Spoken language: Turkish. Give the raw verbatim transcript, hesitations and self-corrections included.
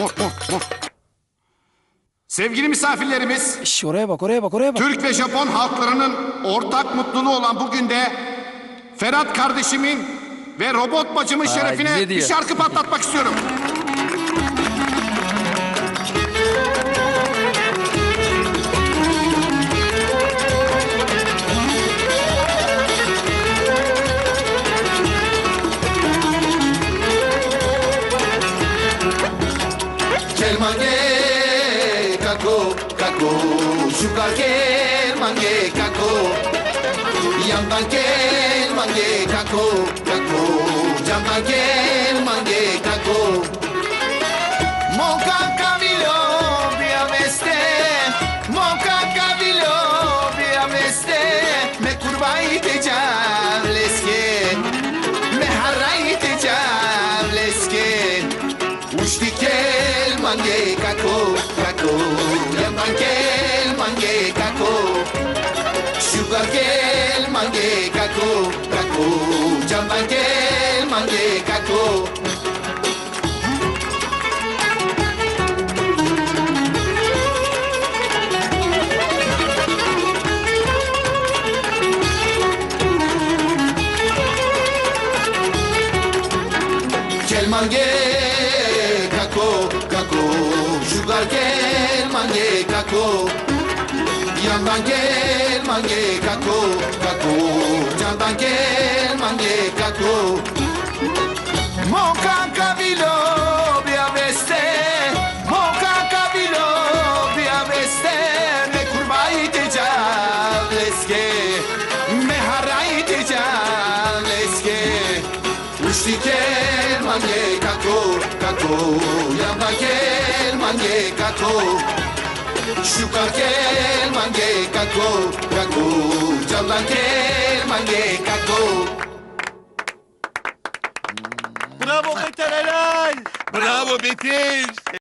Sevgili misafirlerimiz, Şş, oraya bak, oraya bak, oraya bak. Türk ve Japon halklarının ortak mutluluğu olan bugün de Ferhat kardeşimin ve robot bacımın Vay, şerefine bize bir diyor. şarkı patlatmak istiyorum. Gel mange kako kako sugar gel mange kako yandan gel mange kako kako yandan gel mange kako Monka kabilo bir meste Monka kabilo bir meste me kurbayı tecavüz leske me harayı tecavüz leske Ushti kel mange kako kako Yaman kel mange kako Sugar kel mange kako kako Jamban kel mange kako Kel mange kako kako sugar gel mange kako yandan gel mange kako kako candan gel mange kako Monka kabilo bir aveste Monka kabilo bir aveste me kurbayı tecavüz eske me harayı tecavüz eske Ushti kel mange kako kako yandan gel mange kako Sugar kel mange kako kako candan gel mange kako Bravo Beter helal. Bravo Beter.